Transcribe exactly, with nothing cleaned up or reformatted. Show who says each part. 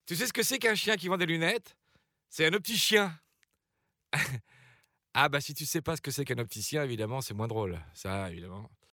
Speaker 1: Tu sais ce que c'est qu'un chien qui vend des lunettes? C'est un opticien. Ah bah, si tu sais pas ce que c'est qu'un opticien, évidemment, c'est moins drôle. Ça, évidemment.